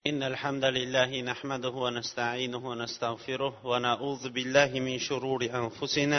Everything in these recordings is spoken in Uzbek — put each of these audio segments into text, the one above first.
إن الحمد لله نحمده ونستعينه ونستغفره ونعوذ بالله من شرور أنفسنا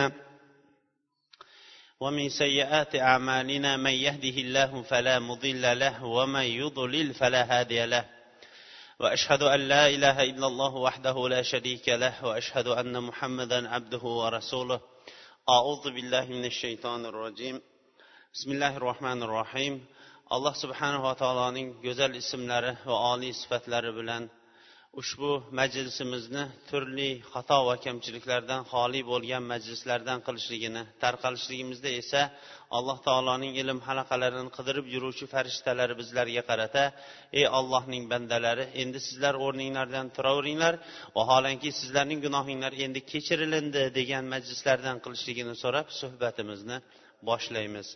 ومن سيئات أعمالنا من يهده الله فلا مضل له ومن يضلل فلا هادي له وأشهد أن لا إله إلا الله وحده لا شريك له وأشهد أن محمدا عبده ورسوله أعوذ بالله من الشيطان الرجيم بسم الله الرحمن الرحيم alloh subhanahu va taoloning go'zal ismlari va oliy sifatlari bilan ushbu majlisimizni turli xato va kamchiliklardan xoli bo'lgan majlislardan qilishligini, tarqalishligimizda esa alloh taoloning ilm halaqalarini qidirib yuruvchi farishtalari bizlarga qarata: ey Allohning bandalari, endi sizlar o'rninglardan turaveringlar, vaholanki sizlarning gunohinglar endi kechirilindi degan majlislardan qilishligini so'rab suhbatimizni boshlaymiz.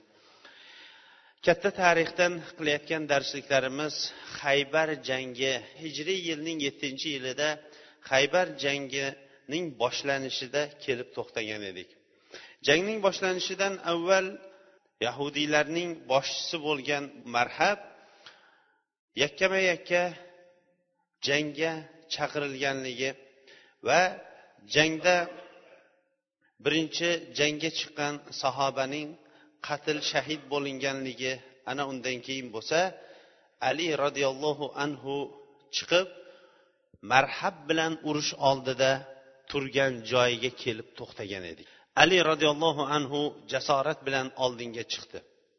Katta tarixdan qilayotgan darsliklarimiz Xaybar jangi, hijriy yilning 7-yilida Xaybar jangining boshlanishida kelib to'xtagan edik. Jangning boshlanishidan avval yahudiylarning boshchisi bo'lgan Marhab yakkama-yakka jangga chaqirilganligi va jangda birinchi jangga chiqqan sahobaning qatl shahid bo'linganligi, ana undan keyin bo'lsa Ali radhiyallohu anhu chiqib Marhab bilan urush oldida turgan joyiga kelib to'xtagan edik. Ali radhiyallohu anhu jasorat bilan oldinga chiqdi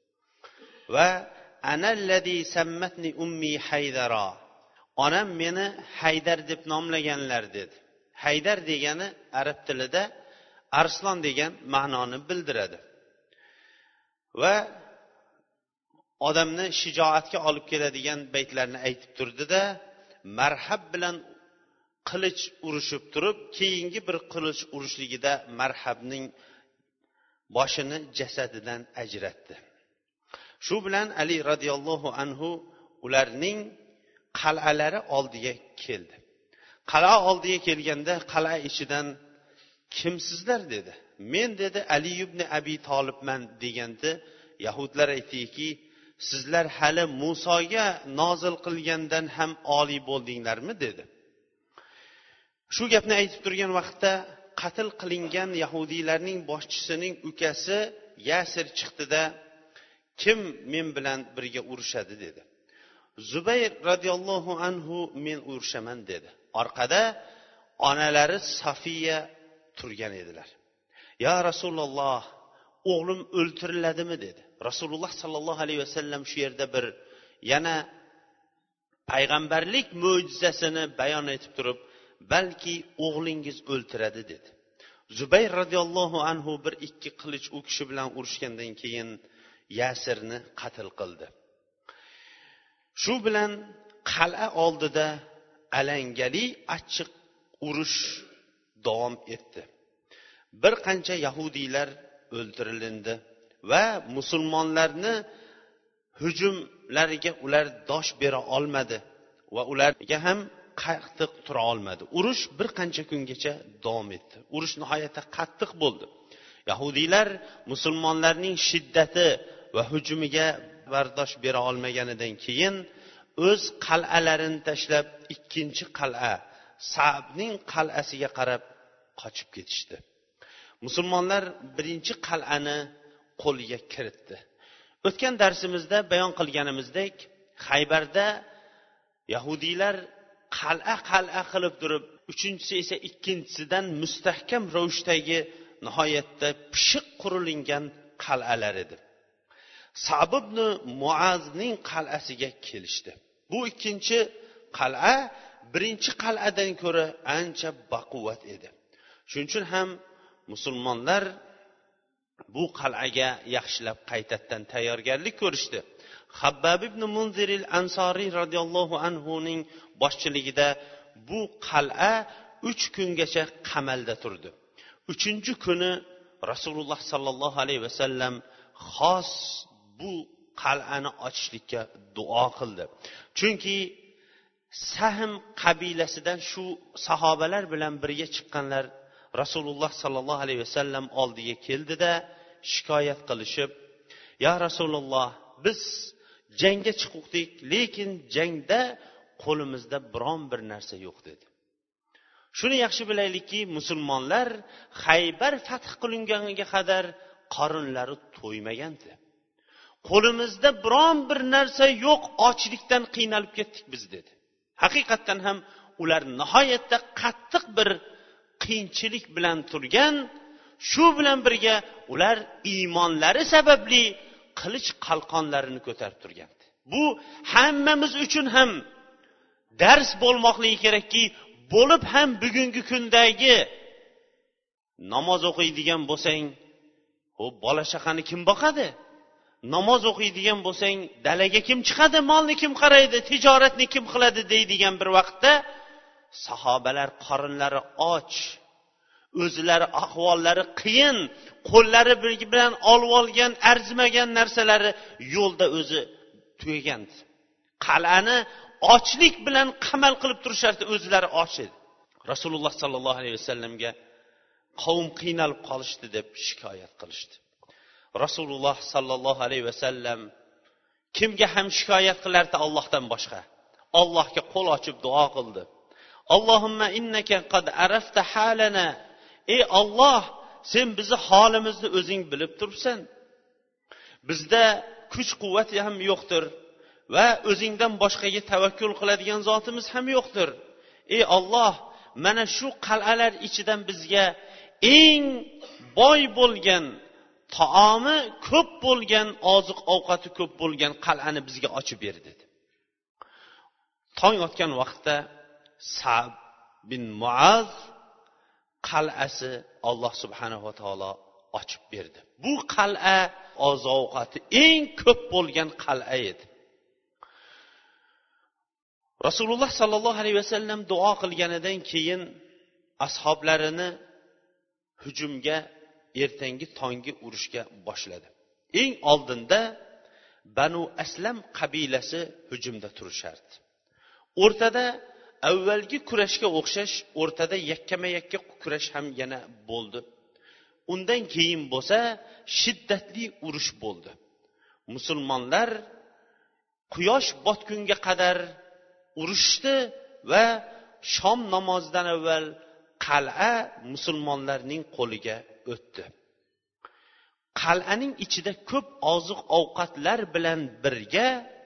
va analladhi sammatni ummi Haydara, onam meni Haydar deb nomlaganlar dedi. Haydar degani arab tilida arslon degan ma'noni bildiradi va odamni shijoatga olib keladigan baytlarni aytib turdida, Marhab bilan qilich urushib turib, keyingi bir qilich urushligida Marhabning boshini jasadidan ajratdi. Shu bilan Ali radhiyallohu anhu ularning qal'alari oldiga keldi. Qal'a oldiga kelganda qal'a ichidan kimsizlar dedi. Men dedi Ali ibn Abi Tolibman deganda yahudlar aytdiki, sizlar hali Musoga nozil qilgandan ham oliy bo'ldinglarmi dedi. Shu gapni aytib turgan vaqtda qatl qilingan yahudiylarning boshchisining ukasi Yasir chiqdida, kim men bilan birga urushadi dedi. Zubayr radhiyallohu anhu men urushaman dedi. Orqada onalari Safiya turgan edilar. Ya Rasululloh, o'g'lim o'ltiriladimi dedi. Rasululloh sallallohu alayhi vasallam shu yerda bir yana payg'ambarlik mo'jizasini bayon etib turib, balki o'g'lingiz o'ltiradi dedi. Zubayr radhiyallohu anhu bir ikki qilich u kishi bilan urushgandan keyin Yasirni qatl qildi. Shu bilan qal'a oldida alangali achchiq urush davom etdi. Bir qancha yahudiylar o'ldirildi va musulmonlarni hujumlariga ular dosh bera olmadi va ularga ham qattiq tura olmadi. Urush bir qancha kungacha davom etdi. Urush nihoyatda qattiq bo'ldi. Yahudiylar musulmonlarning shiddati va hujumiga bardosh bera olmaganidan keyin o'z qal'alarini tashlab ikkinchi qal'a, Sa'bning qal'asiga qarab qochib ketishdi. Musulmonlar birinchi qal'ani qo'lga kiritdi. O'tgan darsimizda bayon qilganimizdek, Xaybarda yahudiylar qal'a qilib turib, uchinchisi esa ikkinchisidan mustahkam ravishdagi nihoyatda pishiq qurilingan qal'alar edi. Sa'b ibn Muazning qal'asiga kelishdi. Bu ikkinchi qal'a birinchi qal'adan ko'ra ancha baquvvat edi. Shuning uchun ham musulmonlar bu qal'aga yaxshilab qaytadan tayyorgarlik ko'rishdi. Habbab ibn Munzir al-Ansari radhiyallohu anhu ning boshchiligida bu qal'a 3 kungacha qamalda turdi. 3-kuni Rasululloh sallallohu alayhi vasallam xos bu qal'ani ochishlikka duo qildi. Chunki Sahm qabilasidan shu sahobalar bilan birga chiqqanlar Rasululloh sallallohu alayhi vasallam oldiga keldida shikoyat qilishib, ya Rasululloh, biz jangga chiqdik, lekin jangda qo'limizda biron bir narsa yo'q dedi. Shuni yaxshi bilaylikki, musulmonlar Xaybar fath qilinganiga qadar qorinlari to'ymagandi. Qo'limizda biron bir narsa yo'q, ochlikdan qiynalib ketdik biz dedi. Haqiqatan ham ular nihoyatda qattiq bir qiyinchilik bilan turgan. Shu bilan birga ular iymonlari sababli qilich qalqonlarini ko'tarib turgandi. Bu hammamiz uchun ham dars bo'lmoqligi kerakki, bo'lib ham bugungi kundagi namoz o'qiydigan bo'lsang, bola chaqani kim boqadi? Namoz o'qiydigan bo'lsang, dalaga kim chiqadi, molni kim qaraydi, tijoratni kim qiladi deydigan bir vaqtda sahobalar qorinlari och, o'zlari ahvollari qiyin, qo'llari bilan olib olgan arzimagan narsalari yo'lda o'zi tugagandi. Qal'ani ochlik bilan qamal qilib turishardi, o'zlari och edi. Rasululloh sallallohu alayhi vasallamga qavm qiynalib qolishdi deb shikoyat qilishdi. Rasululloh sallallohu alayhi vasallam kimga ham shikoyat qilardi Allohdan boshqa? Allohga qo'l ochib duo qildi. Allohumma innaka qad arafta halana. Ey Alloh, sen bizni holimizni o'zing bilib turibsan. Bizda kuch-quvvat ham yo'qdir va o'zingdan boshqaga tavakkul qiladigan zotimiz ham yo'qdir. Ey Alloh, mana shu qal'alar ichidan bizga eng boy bo'lgan, taomi ko'p bo'lgan, oziq-ovqati ko'p bo'lgan qal'ani bizga ochib ber dedi. Tong otgan vaqtda Sa'd bin Muaz qal'asi Alloh subhanahu va taolo ochib berdi. Bu qal'a oziq-ovqati eng ko'p bo'lgan qal'a edi. Rasululloh sallallohu alayhi vasallam duo qilganidan keyin ashoblarini hujumga, ertangi tongi urushga boshladi. Eng oldinda Banu Aslam qabilasi hujumda turishardi. O'rtada avvalgi kurashga o'xshash, o'rtada yakkama-yakka kurash ham yana bo'ldi. Undan keyin bo'lsa shiddatli urush bo'ldi. Musulmonlar quyosh botgunga qadar urushdi va shom namozidan avval qal'a musulmonlarning qo'liga o'tdi. Qal'aning ichida ko'p oziq-ovqatlar bilan birga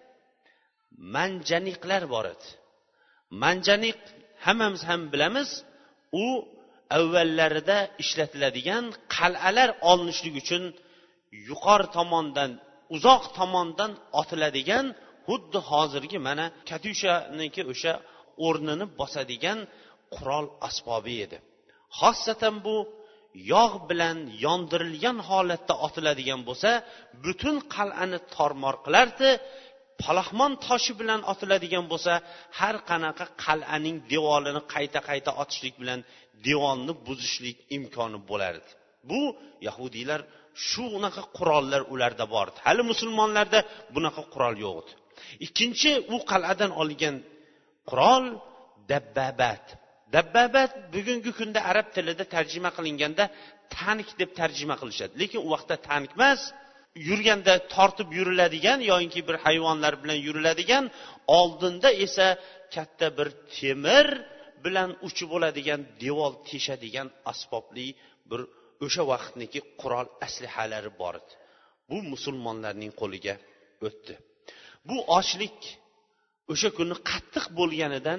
manjaniqlar bor edi. Manjaniq hammamiz ham bilamiz, u avvallarida ishlatiladigan qal'alar olinishlik uchun yuqori tomondan, uzoq tomondan otiladigan, xuddi hozirgi mana katyushaniki o'sha o'rnini bosadigan qurol asbobi edi. Xossatan bu yog' bilan yondirilgan holatda otiladigan bo'lsa, butun qal'ani tormor qilardi. Palaxmon toshi bilan otiladigan bo'lsa, har qanaqa qal'aning devorini qayta otishlik bilan devorni buzishlik imkoni bo'lardi. Bu yahudiylar shu unaqa qurollar ularda bor edi. Hali musulmonlarda bunaqa qurol yo'q edi. Ikkinchi u qal'adan olgan qurol dabbabat. Dabbabat bugungi kunda arab tilida tarjima qilinganda tank deb tarjima qilishadi. Lekin u vaqtda tank emas, yurganda tortib yuriladigan yoki bir hayvonlar bilan yuriladigan, oldinda esa katta bir temir bilan uchi bo'ladigan, devor teshadigan asbobli bir o'sha vaqtniki qurol aslihalari bor edi. Bu musulmonlarning qo'liga o'tdi. Bu ochlik o'sha kuni qattiq bo'lganidan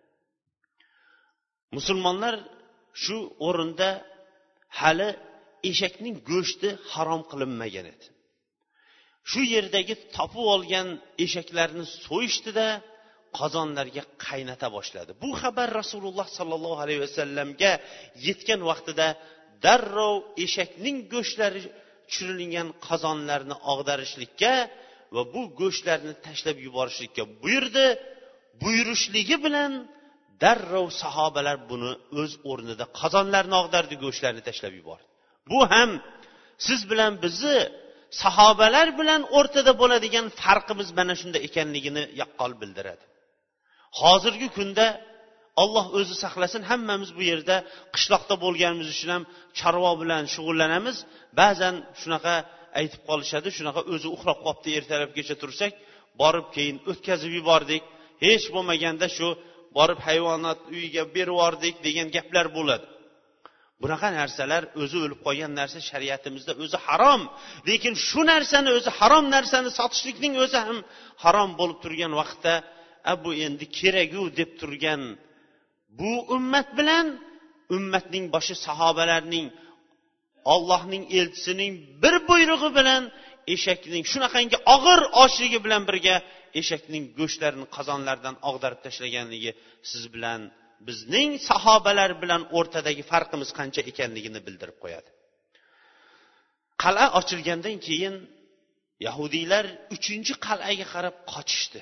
musulmonlar shu o'rinda hali eshakning go'shti harom qilinmagan edi. Shu yerdagi topib olgan eshaklarni so'yishdida qozonlarga qaynata boshladi. Bu xabar Rasululloh sallallohu alayhi vasallamga yetgan vaqtida darrov eshakning go'shtlari tushirilgan qozonlarni og'darishlikka va bu go'shtlarni tashlab yuborishlikka buyurdi. Buyurishligi bilan darrov sahobalar buni o'z o'rnida qozonlarni og'dardi, go'shtlarni tashlab yubordi. Bu ham siz bilan bizni sahobalar bilan o'rtada bo'ladigan farqimiz mana shunda ekanligini yaqqol bildiradi. Hozirgi kunda Alloh o'zi saqlasin, hammamiz bu yerda qishloqda bo'lganimiz uchun ham chorva bilan shug'ullanamiz. Ba'zan shunaqa aytib qolishadi, shunaqa o'zi uxlab qopti, ertalabgacha tursak, borib keyin o'tkazib yubordik hech bo'lmaganda shu borib hayvonot uyiga berib yubordik degan gaplar bo'ladi. Bunaqa narsalar o'zi o'lib qolgan narsa shariatimizda o'zi harom. Lekin shu narsani o'zi harom narsani sotishlikning o'zi ham harom bo'lib turgan vaqtda, bu endi keragu deb turgan bu ummat bilan ummatning boshi sahobalarning Allohning elchisining bir buyrug'i bilan eshakning shunaqangi og'ir ochligi bilan birga eshakning go'shtlarini qozonlardan og'darib tashlaganligi siz bilan bizning sahobalar bilan o'rtadagi farqimiz qancha ekanligini bildirib qo'yadi. Qal'a ochilgandan keyin yahudiylar 3-qal'aga qarab qochishdi.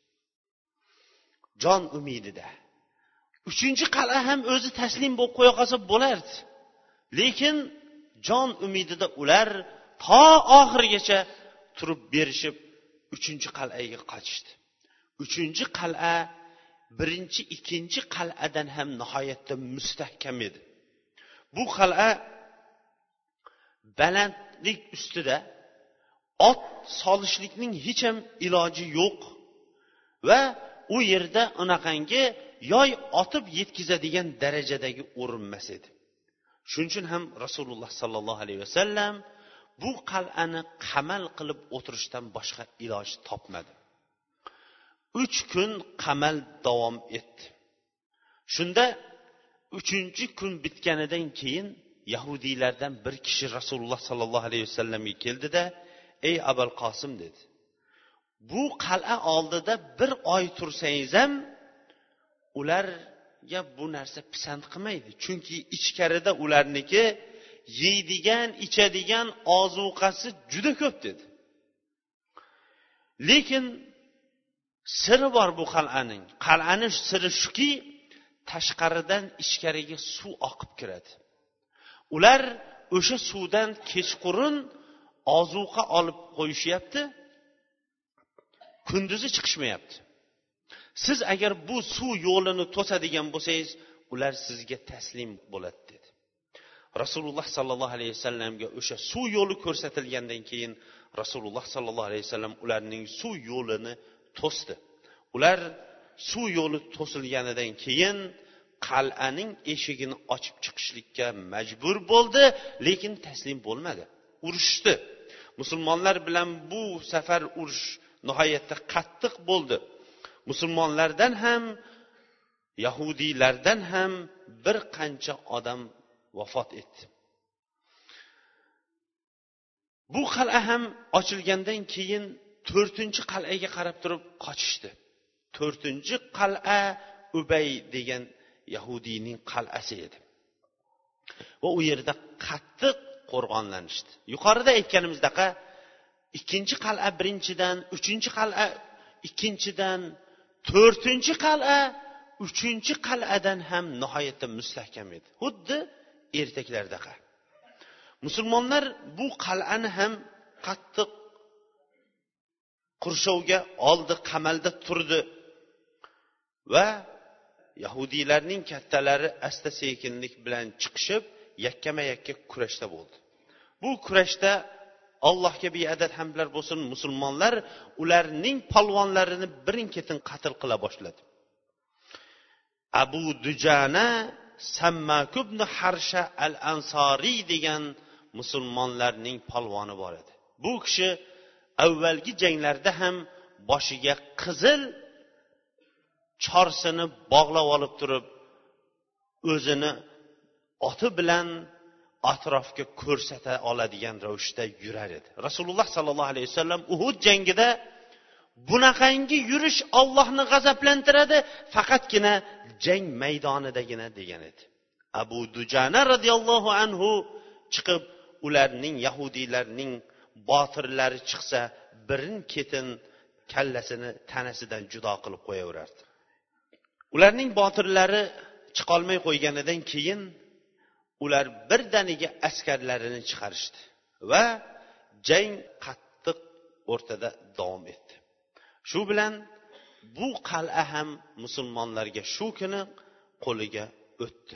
Jon umidida. 3-qal'a ham o'zi taslim bo'lib qo'ya qolsa bo'lardi. Lekin jon umidida ular to oxirigacha turib berishib 3-qal'aga qochishdi. 3-qal'a birinchi, ikkinchi qal'adan ham nihoyatda mustahkam edi. Bu qal'a balandlik ustida ot solishlikning hech ham iloji yo'q va u yerda unaqangi yoy otib yetkazadigan darajadagi o'rinmas edi. Shuning uchun ham Rasululloh sallallohu alayhi vasallam bu qal'ani qamal qilib o'tirishdan boshqa iloj topmadi. 3 kun qamal davom etdi. Shunda 3-kun bitganidan keyin yahudiylardan bir kishi Rasululloh sallallohu alayhi vasallamga keldida, "Ey Abul Qosim" dedi. "Bu qal'a oldida bir oy tursangiz ham ularga bu narsa pisand qilmaydi. Chunki ichkarida ularniki yeydigan, ichadigan ozuqasi juda ko'p" dedi. Lekin siri bor bu qal'aning. Qal'aning siri shuki, tashqaridan ichkariga suv oqib kiradi. Ular o'sha suvdan kechqurun ozuqa olib qo'yishyapti. Kunduzi chiqishmayapti. Siz agar bu suv yo'lini to'sadigan bo'lsangiz, ular sizga taslim bo'ladi dedi. Rasululloh sallallohu alayhi vasallamga o'sha suv yo'li ko'rsatilgandan keyin Rasululloh sallallohu alayhi vasallam ularning suv yo'lini to'sdi. Ular suv yo'li to'silganidan keyin qal'aning eshigini ochib chiqishlikka majbur bo'ldi, lekin taslim bo'lmadi. Urushdi. Musulmonlar bilan bu safar urush nihoyatda qattiq bo'ldi. Musulmonlardan ham, yahudiylardan ham bir qancha odam vafot etdi. Bu qal'a ham ochilgandan keyin 4-qal'aga qarab turib qochishdi. 4-qal'a Ubay degan yahudiyning qal'asi edi. Va u yerda qattiq qo'rg'onlanishdi. Yuqorida aytganimizdek, 2-qal'a birinchidan, 3-qal'a ikkinchidan, 4-qal'a 3-qal'adan ham nihoyatda mustahkam edi. Xuddi ertaklardek. Musulmonlar bu qal'ani ham qattiq qurshovga oldi, qamalda turdi va yahudiylarning kattalari asta sekinlik bilan chiqishib yakkama-yakka kurashda bo'ldi. Bu kurashda Allohga beadad hamdlar bo'lsin, musulmonlar ularning polvonlarini birin-ketin qatl qila boshladi. Abu Dujana Sammak ibn Harsha al-Ansari degan musulmonlarning polvoni bor edi. Bu kishi avvalgi janglarda ham boshiga qizil chorsini bog'lab olib turib, o'zini oti bilan atrofga ko'rsata oladigan ravishda yurar edi. Rasululloh sallallohu alayhi vasallam Uhud jangida bunaqangi yurish Allohni g'azablantiradi, faqatgina jang maydonidagina degan edi. Abu Dujana radhiyallohu anhu chiqib, ularning yahudiylarning botirlari chiqsa, birin-ketin kallasini tanasidan judo qilib qo'yaverardi. Ularning botirlari chiqolmay qo'yganidan keyin ular birdaniga askarlarini chiqarishdi va jang qattiq o'rtada davom etdi. Shu bilan bu qal'a ham musulmonlarga shu kuni qo'liga o'tdi.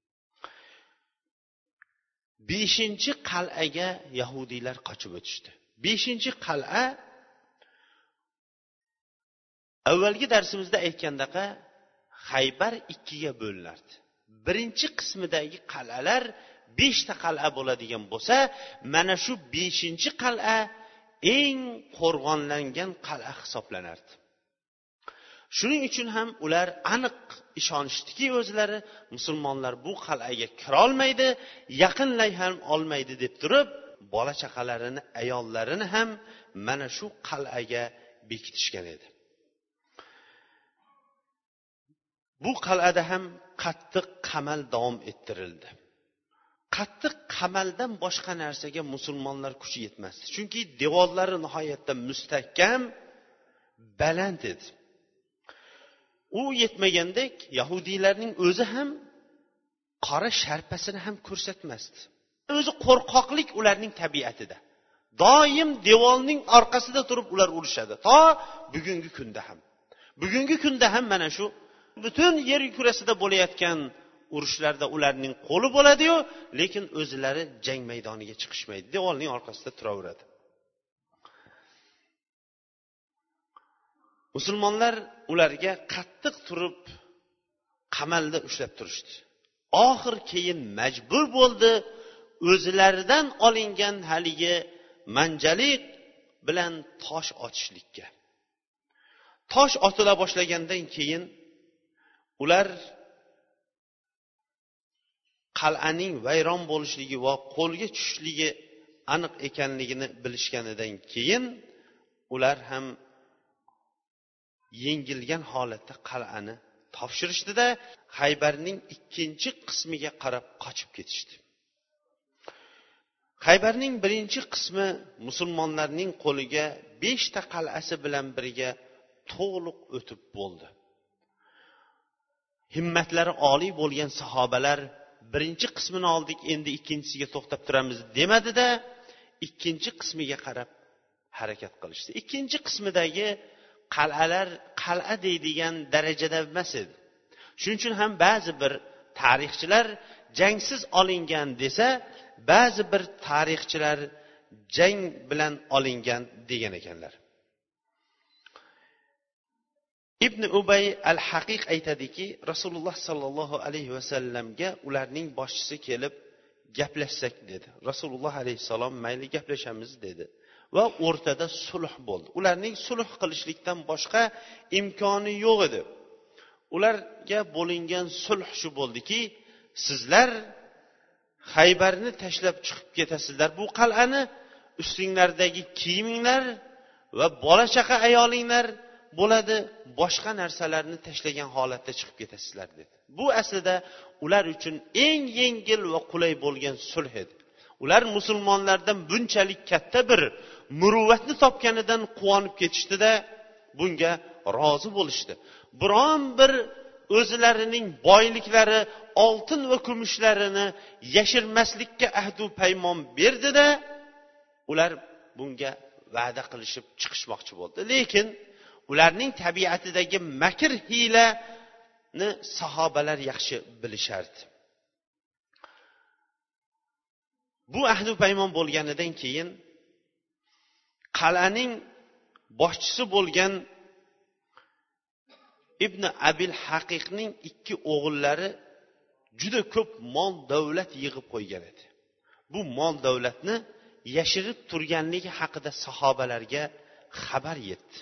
5-qal'aga yahudiylar qochib o'tishdi. 5-qal'a Avvalgi darsimizda aytgandaqa Xaybar ikkiga bo'linardi. Birinchi qismidagi qal'alar 5 ta qal'a bo'ladigan bo'lsa, mana shu 5-chi qal'a eng qo'rg'onlangan qal'a hisoblanardi. Shuning uchun ham ular aniq ishonishdiki, o'zlari musulmonlar bu qal'aga kira olmaydi, yaqinlay ham olmaydi deb turib, bola chaqalarini, ayollarini ham mana shu qal'aga bekitishgan edi. Bu qal'ada ham qattiq qamal davom ettirildi. Qattiq qamaldan boshqa narsaga musulmonlar kuchi yetmasdi. Chunki devorlari nihoyatda mustahkam, baland edi. U yetmagandek, yahudiylarning o'zi ham qora sharpasini ham ko'rsatmasdi. O'zi qo'rqoqlik ularning tabiatida. Doim devorning orqasida turib ular urushadi. To bugungi kunda ham. Bugungi kunda ham mana shu butun yer kurasida bo'layotgan urushlarda ularning qo'li bo'ladi-yu, lekin o'zlari jang maydoniga chiqishmaydi. Devorning orqasida turaveradi. Musulmonlar ularga qattiq turib qamalda ushlab turishdi. Oxir keyin majbur bo'ldi o'zlaridan olingan haligi manjalik bilan tosh otishlikka. Tosh otila boshlagandan keyin ular qal'aning vayron bo'lishligi va qo'lga tushishligi aniq ekanligini bilishganidan keyin ular ham yengilgan holatda qal'ani topshirishdida Xaybarning 2-chi qismiga qarab qochib ketishdi. Xaybarning 1-chi qismi musulmonlarning qo'liga 5 ta qal'asi bilan birga to'liq o'tib bo'ldi. Himmatlari oliy bo'lgan sahobalar 1-chi qismini oldik, endi 2-chisiga to'xtab turamiz demadida, 2-chi qismiga qarab harakat qilishdi. 2-chi qismidagi qal'alar qal'a deydigan darajada emas edi. Shuning uchun ham ba'zi bir tarixchilar jangsiz olingan desa, ba'zi bir tarixchilar jang bilan olingan degan ekanlar. Ibn Ubay al-Haqiq aytadiki, Rasululloh sallallohu alayhi vasallamga ularning boshchisi kelib gaplashsak dedi. Rasululloh alayhisalom mayli gaplashamiz dedi. Va o'rtada sulh bo'ldi. Ularning sulh qilishlikdan boshqa imkoni yo'q edi. Ularga bo'lingan sulh shu bo'ldiki, sizlar Xaybarni tashlab chiqib ketasizlar. Bu qal'ani ustinglardagi kiyiminglar va bola chaqa ayolinglar bo'ladi, boshqa narsalarni tashlagan holatda chiqib ketasizlar dedi. Bu aslida ular uchun eng yengil va qulay bo'lgan sulh edi. Ular musulmonlardan bunchalik katta bir muruvvatni topganidan quvonib ketishdi-da, bunga rozi bo'lishdi. Biron bir o'zlarining boyliklari, oltin va kumushlarini yashirmaslikka ahd va paymon berdi-da, ular bunga va'da qilishib chiqishmoqchi bo'ldi. Lekin ularning tabiatidagi makr hiylani sahobalar yaxshi bilishardi. Bu ahd va paymon bo'lganidan keyin qal'aning boshchisi bo'lgan Ibn Abil Haqiqning 2 o'g'illari juda ko'p mol davlat yig'ib qo'ygan edi. Bu mol davlatni yashirib turganligi haqida sahobalarga xabar yetdi.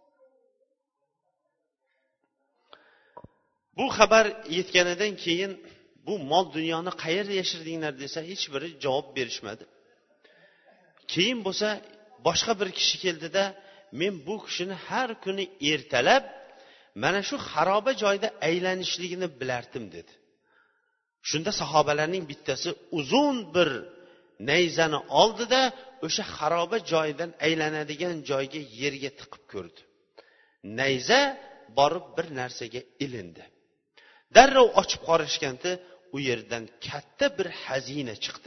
Bu xabar yetganidan keyin bu mol dunyoni qayerda yashirdinglar desa, hech biri javob berishmadi. Keyin bo'lsa boshqa bir kishi keldida, men bu kishini har kuni ertalab mana shu xaroba joyda aylanishligini bilardim dedi. Shunda sahobalarning bittasi uzun bir nayzani oldida o'sha xaroba joydan aylanadigan joyga yerga tiqib ko'rdi. Nayza borib bir narsaga ilindi. Darrov ochib qarashganda u yerdan katta bir xazina chiqdi.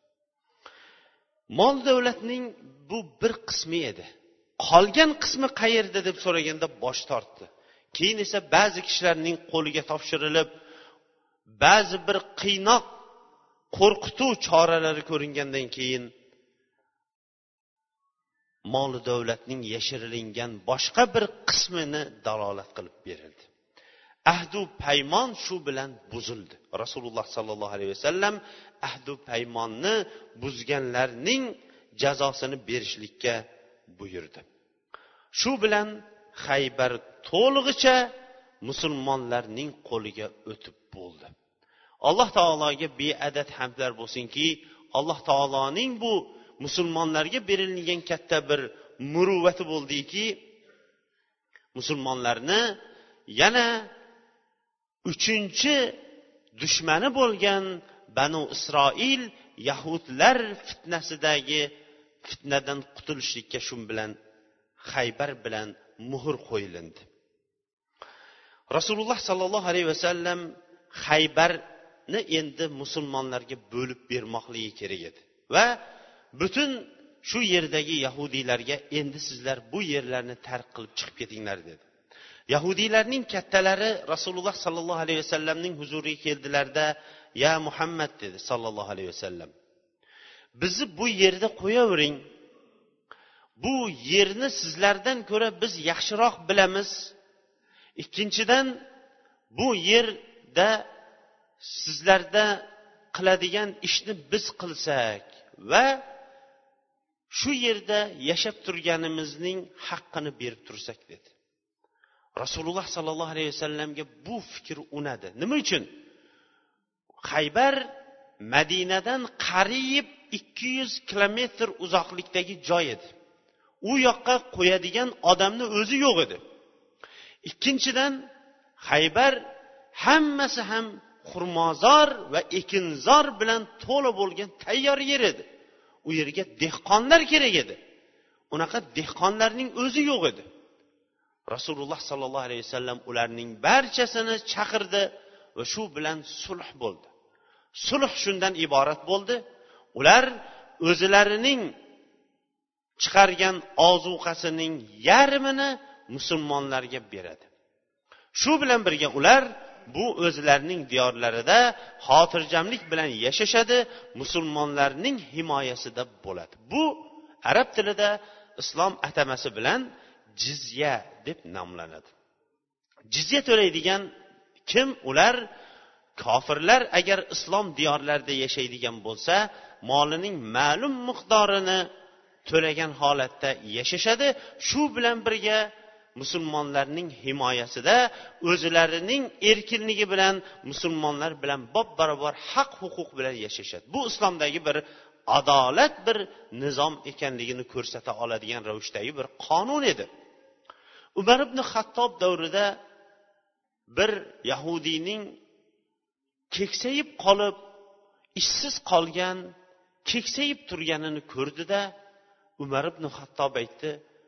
Mol davlatning bu bir qismi edi. Qolgan qismi qayerda deb so'raganda bosh tortdi. Keyin esa ba'zi kishilarning qo'liga topshirilib, ba'zi bir qiynoq, qo'rqituv choralari ko'ringandan keyin mol davlatning yashiringan boshqa bir qismini dalolat qilib berildi. Ahdu paymon shu bilan buzildi. Rasululloh sallallohu alayhi vasallam ahdu paymonni buzganlarning jazosini berishlikka buyurdi. Shu bilan Xaybar to'lig'icha musulmonlarning qo'liga o'tib bo'ldi. Alloh taologa beadad hamdlar bo'lsinki, Alloh taoloning bu musulmonlarga berilgan katta bir muruvvati bo'ldiki, musulmonlarni yana 3-chi dushmani bo'lgan Banu Isroil Yahudlar fitnasidagi fitnadan qutulishlikka shu bilan Xaybar bilan muhr qo'yildi. Rasululloh sallallohu alayhi vasallam Xaybarni endi musulmonlarga bo'lib bermoqligi kerak edi va butun shu yerdagi yahudiylarga endi sizlar bu yerlarni tark qilib chiqib ketinglar dedi. Yahudiylarning kattalari Rasululloh sallallohu alayhi vasallamning huzuriga keldilarda, "Ya Muhammad" dedi sallallohu alayhi vasallam, "Bizni bu yerda qo'yavering. Bu yerni sizlardan ko'ra biz yaxshiroq bilamiz. Ikkinchidan, bu yerda sizlarda qiladigan ishni biz qilsak va shu yerda yashab turganimizning haqqini berib tursak" dedi. Rasululloh sallallohu alayhi vasallamga bu fikr unadi. Nima uchun? Xaybar Madinadan qariyb 200 kilometr uzoqlikdagi joy edi. U yoqqa qo'yadigan odamni o'zi yo'q edi. Ikkinchidan, Xaybar hammasi ham xurmozor va ekinzor bilan to'la bo'lgan tayyor yer edi. U yerga dehqonlar kerak edi. Unaqa dehqonlarning o'zi yo'q edi. Rasululloh sallallohu alayhi vasallam ularning barchasini chaqirdi va shu bilan sulh bo'ldi. Sulh shundan iborat bo'ldi. Ular o'zlarining chiqargan ozuqasining yarmini musulmonlarga beradi. Shu bilan birga ular bu o'zlarining diyorlarida xotirjamlik bilan yashashadi, musulmonlarning himoyasida bo'ladi. Bu arab tilida islom atamasi bilan jizya deb nomlanadi. Jizya to'laydigan kim? Ular kofirlar agar islom diyorlarida yashaydigan bo'lsa, molining ma'lum miqdorini to'lagan holatda yashashadi. Shu bilan birga musulmonlarning himoyasida o'zlarining erkinligi bilan musulmonlar bilan bab-barobar haq huquq bilan yashashadi. Bu islomdagi bir adolat bir nizom ekanligini ko'rsata oladigan ravishdagi bir qonun edi. Umar ibn Xattob davrida bir yahudiyning keksayib qolib, ishsiz qolgan, keksayib turganini ko'rdida Umar ibn Xattob aytdi: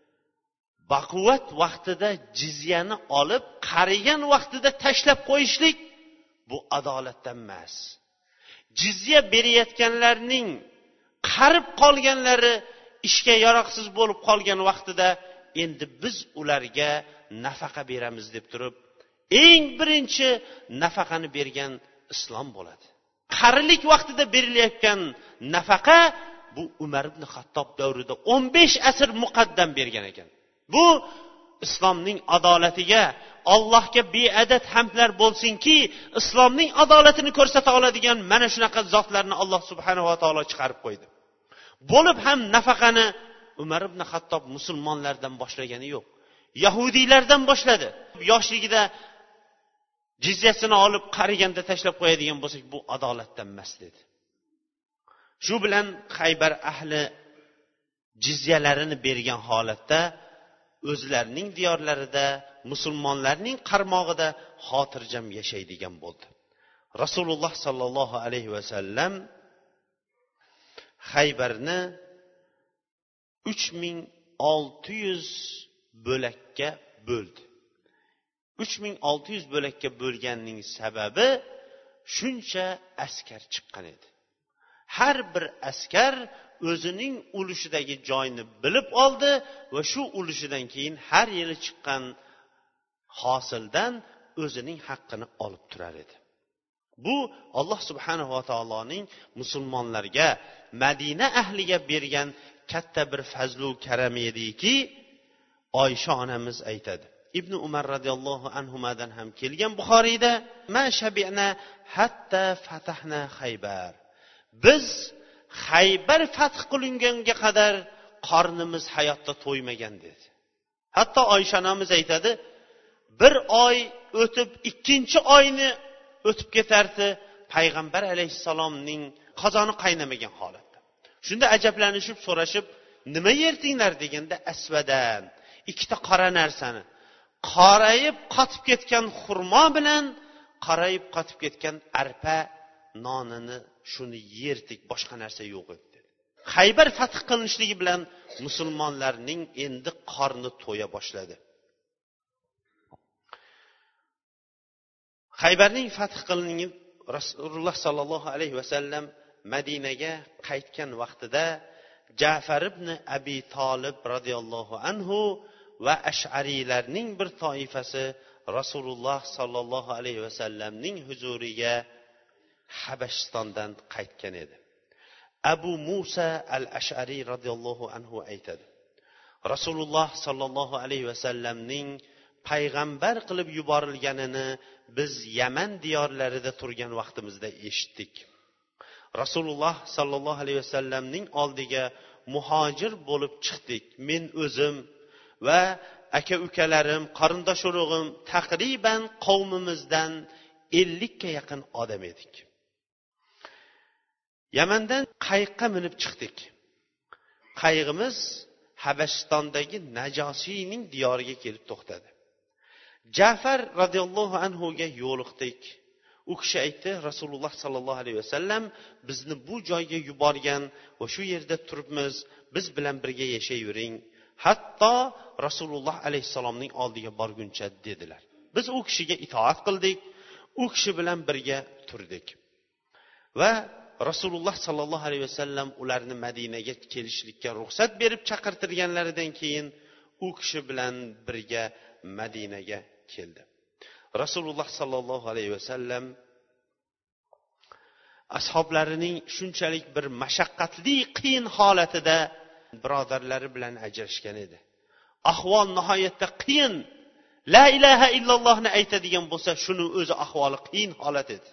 "Baquvvat vaqtida jizyani olib, qarigan vaqtida tashlab qo'yishlik bu adolatdan emas. Jizya berayotganlarning qarib qolganlari ishga yaroqsiz bo'lib qolgan vaqtida endi biz ularga nafaqa beramiz" deb turib, eng birinchi nafaqani bergan islom bo'ladi. Qarilik vaqtida berilayotgan nafaqa bu Umar ibn Xattob davrida 15 asr muqaddam bergan ekan. Bu islomning adolatiga Allohga beadad hamdlar bo'lsinki, islomning adolatini ko'rsata oladigan mana shunaqa zotlarni Alloh subhanahu va taolo chiqarib qo'ydi. Bo'lib ham nafaqani Umar ibn Xattob musulmonlardan boshlagani yo'q. Yahudiylardan boshladi. Yoshligida jizyasini olib qariganda tashlab qo'yadigan bo'lsak, bu adolatdan emas dedi. Shu bilan Xaybar ahli jizyalarini bergan holatda o'zlarining diyorlarida, musulmonlarning qarmog'ida xotirjam yashaydigan bo'ldi. Rasululloh sallallohu alayhi vasallam Xaybarni 3600 bo'lakka bo'ldi. 3600 bo'lakka bo'lganning sababi shuncha askar chiqqan edi. Har bir askar o'zining ulushidagi joyni bilib oldi va shu ulushidan keyin har yili chiqqan hosildan o'zining haqqini olib turar edi. Bu Alloh subhanahu va taoloning musulmonlarga, Madina ahliga bergan katta bir fazlu karam ediki, Oysha onamiz aytadi. Ibn Umar radhiyallohu anhudan ham kelgan Buxoriyda, "Ma shabi'na hatta fatahna Xaybar." Biz Xaybar fath qilingunga qadar qornimiz hayotda to'ymagan dedi. Hatto Oysha onamiz aytadi, bir oy o'tib, ikkinchi oyni o'tib ketardi, payg'ambar alayhissalomning qozoni qaynamagan holatda. Shunda ajablanishib so'rashib, "Nima yerdinglar?" deganda, "Asvadan, ikkita qora narsani, qorayib qotib ketgan xurmo bilan qorayib qotib ketgan arpa nonini shuni yerdik, boshqa narsa yo'q edi." Xaybar fath qilinishligi bilan musulmonlarning endi qorni to'ya boshladi. Xaybarning fath qilinib Rasululloh sallallohu alayhi vasallam Madinaga qaytgan vaqtida Ja'far ibn Abi Talib radhiyallohu anhu va Ash'ariylarning bir toifasi Rasululloh sallallohu alayhi vasallamning huzuriga Habashistondan qaytgan edi. Abu Musa al-Ash'ari radhiyallohu anhu aytadi, Rasululloh sallallohu alayhi vasallamning payg'ambar qilib yuborilganini biz Yaman diyorlarida turgan vaqtimizda eshitdik. Rasululloh sallallohu alayhi vasallamning oldiga muhojir bo'lib chiqdik. Men o'zim va aka-ukalarim, qarindosh-urug'im taqriban qavmimizdan 50 ga yaqin odam edik. Yamandan qayiqqa minib chiqdik. Qayiqimiz Habashistondagi Najosiyning diyoriga kelib to'xtadi. Ja'far radhiyallohu anhu ga yo'liqdik. U kishi aytdi, Rasululloh sallallohu alayhi vasallam bizni bu joyga yuborgan va shu yerda turibmiz, biz bilan birga yashayvering. Hatto Rasululloh alayhisalomning oldiga borguncha dedilar. Biz u kishiga itoat qildik, u kishi bilan birga turdik. Va Rasululloh sallallohu alayhi vasallam ularni Madinaga kelishlikka ruxsat berib chaqirtirganlaridan keyin u kishi bilan birga Madinaga keldi. Rasululloh sallallohu alayhi vasallam ashablarining shunchalik bir mashaqqatli, qiyin holatida birodarlari bilan ajrashgan edi. Ahvol nihoyatda qiyin. La ilaha illallohni aytadigan bo'lsa, shuni o'zi ahvoli qiyin holat edi.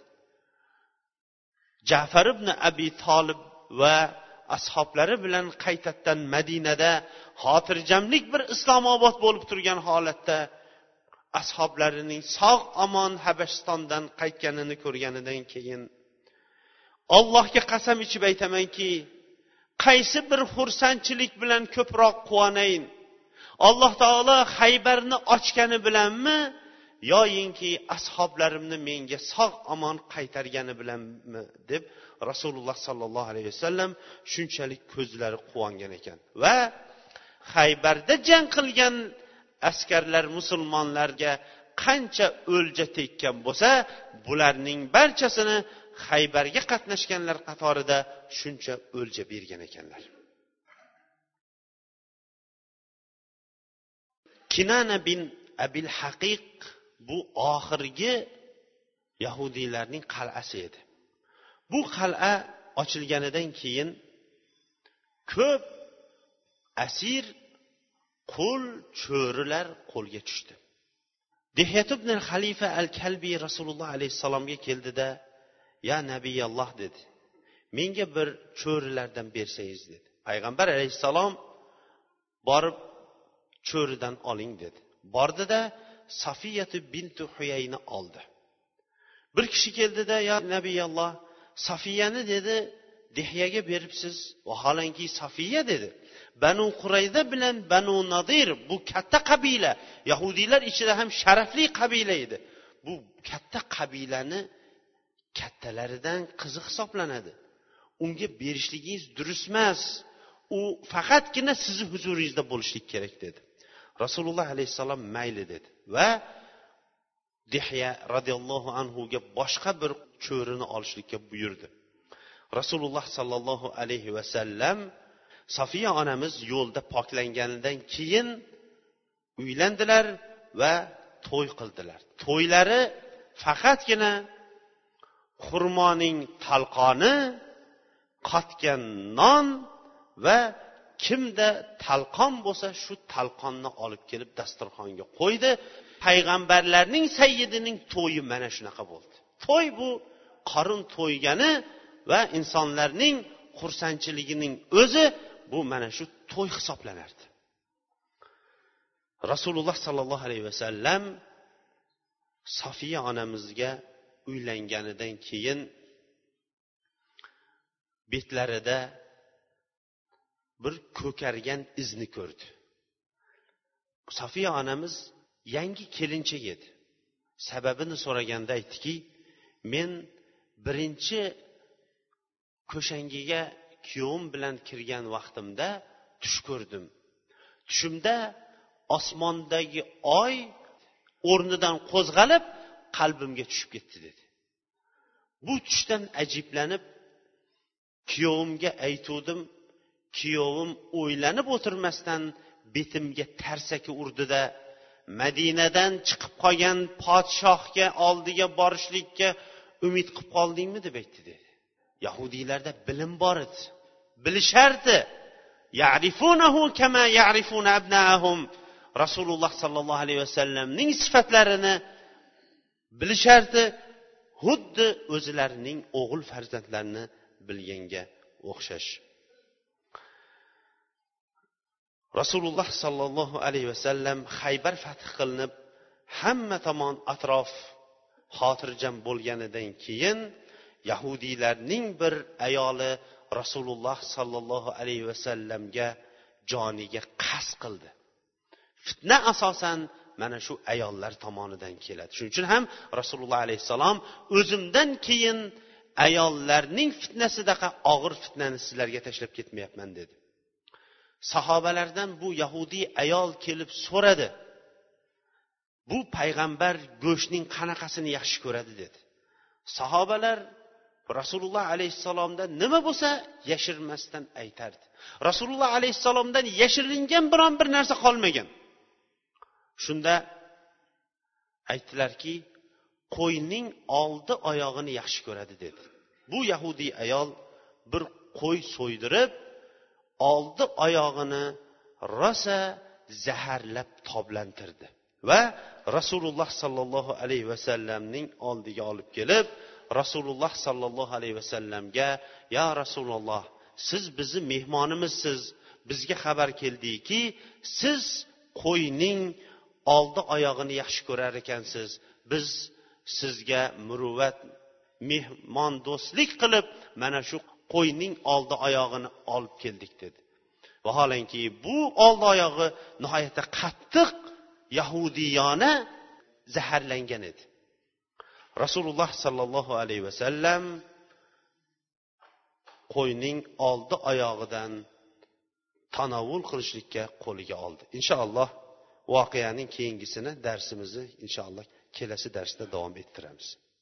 Ja'far ibn Abi Talib va ashablari bilan qaytadan Madinada xotirjamlik bir Islomobod bo'lib turgan holatda ashablarining sog' omon Habashistondan qaytganini ko'rganidan keyin Allohga qasam ichib aytamanki, qaysi bir xursandchilik bilan ko'proq quvonayin? Alloh taolo Xaybarni ochgani bilanmi, yoyinki ashablarimni menga sog' omon qaytargani bilanmi deb Rasululloh sallallohu alayhi vasallam shunchalik ko'zlari quvongan ekan. Va Xaybarda jang qilgan askarlar musulmonlarga qancha o'lja tekkan bo'lsa, bularning barchasini Xaybarga qatnashganlar qatorida shuncha o'lja bergan ekanlar. Kinana bin Abil Haqiq bu oxirgi yahudiylarning qal'asi edi. Bu qal'a ochilganidan keyin ko'p asir, qul, cho'rilar qo'lga tushdi. Dihyat ibn al-Xalifa al-Kalbi Rasululloh alayhisalomga keldida, "Ya Nabiyalloh" dedi. "Menga bir cho'rilardan bersangiz" dedi. Payg'ambar alayhisalom borib cho'ridan oling dedi. Bordida Safiyatu bintu Huyayni oldi. Bir kishi keldida, "Ya Nabiyalloh, Safiyani" dedi, "Dihyaga beribsiz." Vaholanki Safiya dedi, Banu Qurayza bilan Banu Nadir bu katta qabila, yahudiylar ichida ham sharafli qabila edi. Bu katta qabilani kattalaridan qizi hisoblanadi. Unga berishligingiz durust emas. U faqatgina sizni huzuringizda bo'lishlik kerak dedi. Rasululloh alayhisalom mayli dedi va Dihya radhiyallohu anhu ga boshqa bir cho'rini olishlikka buyurdi. Rasululloh sallallohu alayhi vasallam Safiya onamiz yo'lda poklanganidan keyin uylandilar va to'y qildilar. To'ylari faqatgina xurmoning talqoni, qotgan non va kimda talqon bo'lsa shu talqonni olib kelib dasturxonga qo'ydi. Payg'ambarlarning sayyidining to'yi mana shunaqa bo'ldi. To'y bu qorin to'ygani va insonlarning xursandchiligining o'zi bu mana shu to'y hisoblanardi. Rasululloh sallallohu alayhi vasallam Sofiya onamizga uylanganidan keyin betlarida bir ko'kargan izni ko'rdi. Sofiya onamiz yangi kelinchak edi. Sababini so'raganda aytdiki, men birinchi ko'shangiga kuyovim bilan kirgan vaqtimda tush ko'rdim. Tushimda osmondagi oy o'rnidan qo'zg'alib qalbimga tushib ketdi dedi. Bu tushdan ajiblanib kuyovimga aytuvdim. Kuyovim o'ylanib o'tirmasdan betimga tarsaki urdida Madinadan chiqib qolgan podshohga oldiga borishlikka umid qilib qoldingmi deb aytdi dedi. Yahudiylarda bilim bor edi. Bilishardi. Ya'rifunahu kama ya'rifuna abna'ahum. Rasululloh sallallohu alayhi vasallamning sifatlarini bilishardi. Xuddi o'zlarining o'g'il farzandlarini bilganga o'xshash. Rasululloh sallallohu alayhi vasallam Xaybar fath qilinib, hamma tomon atrof xotirjam bo'lganidan keyin yahudiylarning bir ayoli Rasululloh sallallohu alayhi vasallamga joniga qasd qildi. Fitna asosan mana shu ayollar tomonidan keladi. Shuning uchun ham Rasululloh alayhisalom o'zimdan keyin ayollarning fitnasidaqa og'ir fitnani sizlarga tashlab ketmayapman dedi. Sahobalardan bu yahudiy ayol kelib so'radi. Bu payg'ambar go'shtning qanaqasini yaxshi ko'radi dedi. Sahobalar Rasululloh alayhisalomdan nima bo'lsa yashirmasdan aytardi. Rasululloh alayhisalomdan yashiringan biron bir narsa qolmagan. Shunda aytdilarki, qo'yning oldi oyog'ini yaxshi ko'radi dedi. Bu yahudiy ayol bir qo'y so'ydirib, oldi oyog'ini rosa zaharlab toblantirdi va Rasululloh sallallohu alayhi vasallamning oldiga olib kelib, Rasululloh sallallohu alayhi vasallamga, "Ya Rasululloh, siz bizni mehmonimizsiz. Bizga xabar keldiki, siz qo'yning oldi oyog'ini yaxshi ko'rar ekansiz. Biz sizga muruvvat, mehmondo'stlik qilib mana shu qo'yning oldi oyog'ini olib keldik" dedi. Vaholanki bu oldi oyog'i nihoyatda qattiq yahudiyona zaharlangan edi. Rasululloh sallallohu alayhi vasallam qo'yning oldi oyog'idan tanovul qilishlikka qo'liga oldi. Inshaalloh voqeaning keyingisini darsimizni inshaalloh kelasi darsda davom ettiramiz.